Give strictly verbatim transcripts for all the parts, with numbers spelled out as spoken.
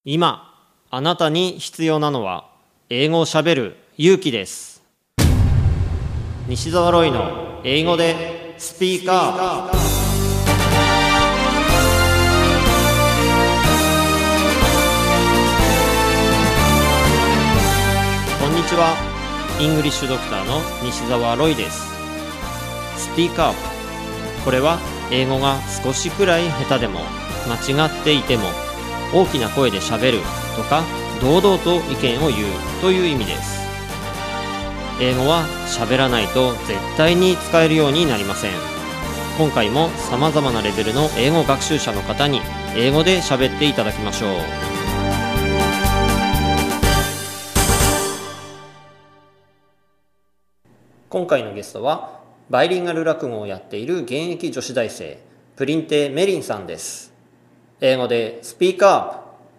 今あなたに必要なのは英語をしゃべる勇気です。西澤ロイの英語でスピーカー。こんにちは。イングリッシュドクターの西澤ロイです。スピーカー。これは英語が少しくらい下手でも間違っていても大きな声でしゃべるとか堂々と意見を言うという意味です。英語はしゃべらないと絶対に使えるようになりません。今回も様々なレベルの英語学習者の方に英語でしゃべっていただきましょう。今回のゲストはバイリンガル落語をやっている現役女子大生プリンテメリンさんです。英語で Speak up.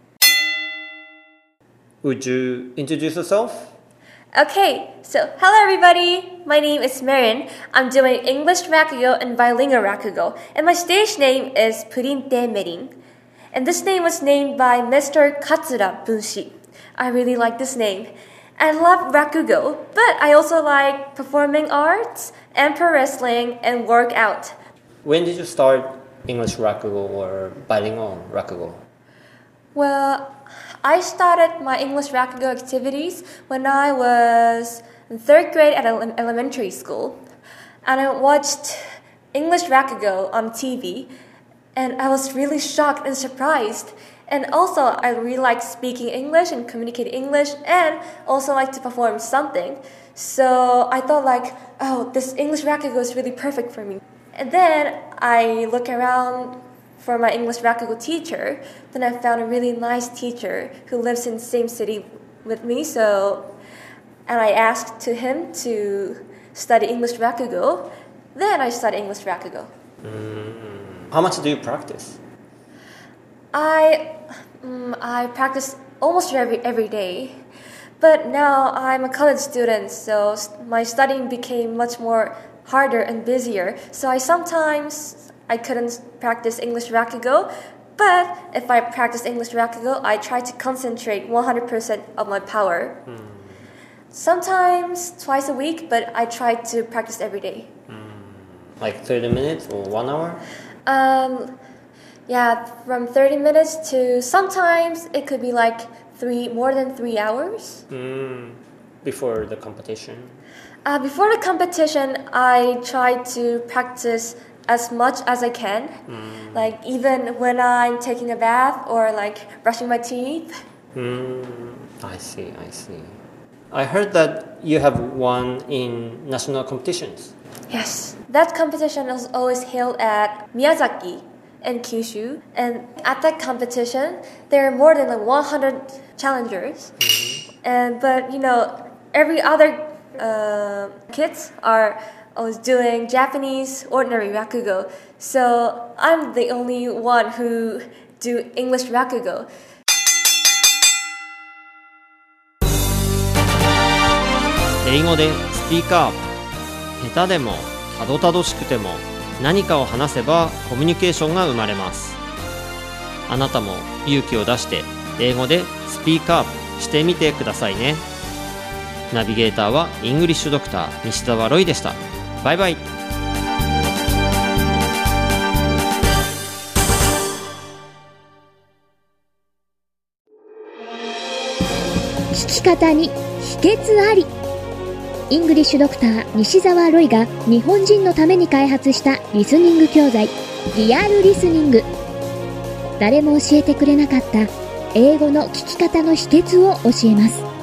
Would you introduce yourself? Okay, so hello everybody. My name is Marin. I'm doing English Rakugo and Bilingual Rakugo, and my stage name is Purinte Merin. And this name was named by Mister Katsura Bunshi. I really like this name. I love Rakugo, but I also like performing arts and pro wrestling and workout. When did you start English Rakugo or Bilingual Rakugo? Well, I started my English Rakugo activities when I was in third grade at ele- elementary school. And I watched English Rakugo on T V, and I was really shocked and surprised. And also, I really like speaking English and communicating English, and also like to perform something. So I thought like, oh, this English Rakugo is really perfect for me. And then I look around for my English Rakugo teacher. Then I found a really nice teacher who lives in the same city with me. So, and I asked to him to study English Rakugo. Then I studied English Rakugo. Mm. How much do you practice? I um, I practice almost every every day. But now I'm a college student, so my studying became much more harder and busier. So I sometimes I couldn't practice English Rakugo, but if I practice English Rakugo, I try to concentrate one hundred percent of my power. Mm. Sometimes twice a week, but I try to practice every day. Mm. Like thirty minutes or one hour? Um, yeah, from thirty minutes to sometimes it could be like three more than three hours. Mm. Before the competition? Uh, before the competition, I try to practice as much as I can, mm. like even when I'm taking a bath or like brushing my teeth. Mm. I see, I see. I heard that you have won in national competitions. Yes, that competition is always held at Miyazaki and Kyushu, and at that competition, there are more than like one hundred challengers, mm-hmm. and but you know every other uh, kids are always doing Japanese ordinary Rakugo, so I'm the only one who do English Rakugo. 英語でスピーカー。下手でもたどたどしくても何かを話せばコミュニケーションが生まれます。あなたも勇気を出して英語でスピーカーしてみてくださいね。ナビゲーターはイングリッシュドクター西澤ロイでした。バイバイ。 聞き方に秘訣あり。イングリッシュドクター西澤ロイが日本人のために開発したリスニング教材リアルリスニング。誰も教えてくれなかった英語の聞き方の秘訣を教えます。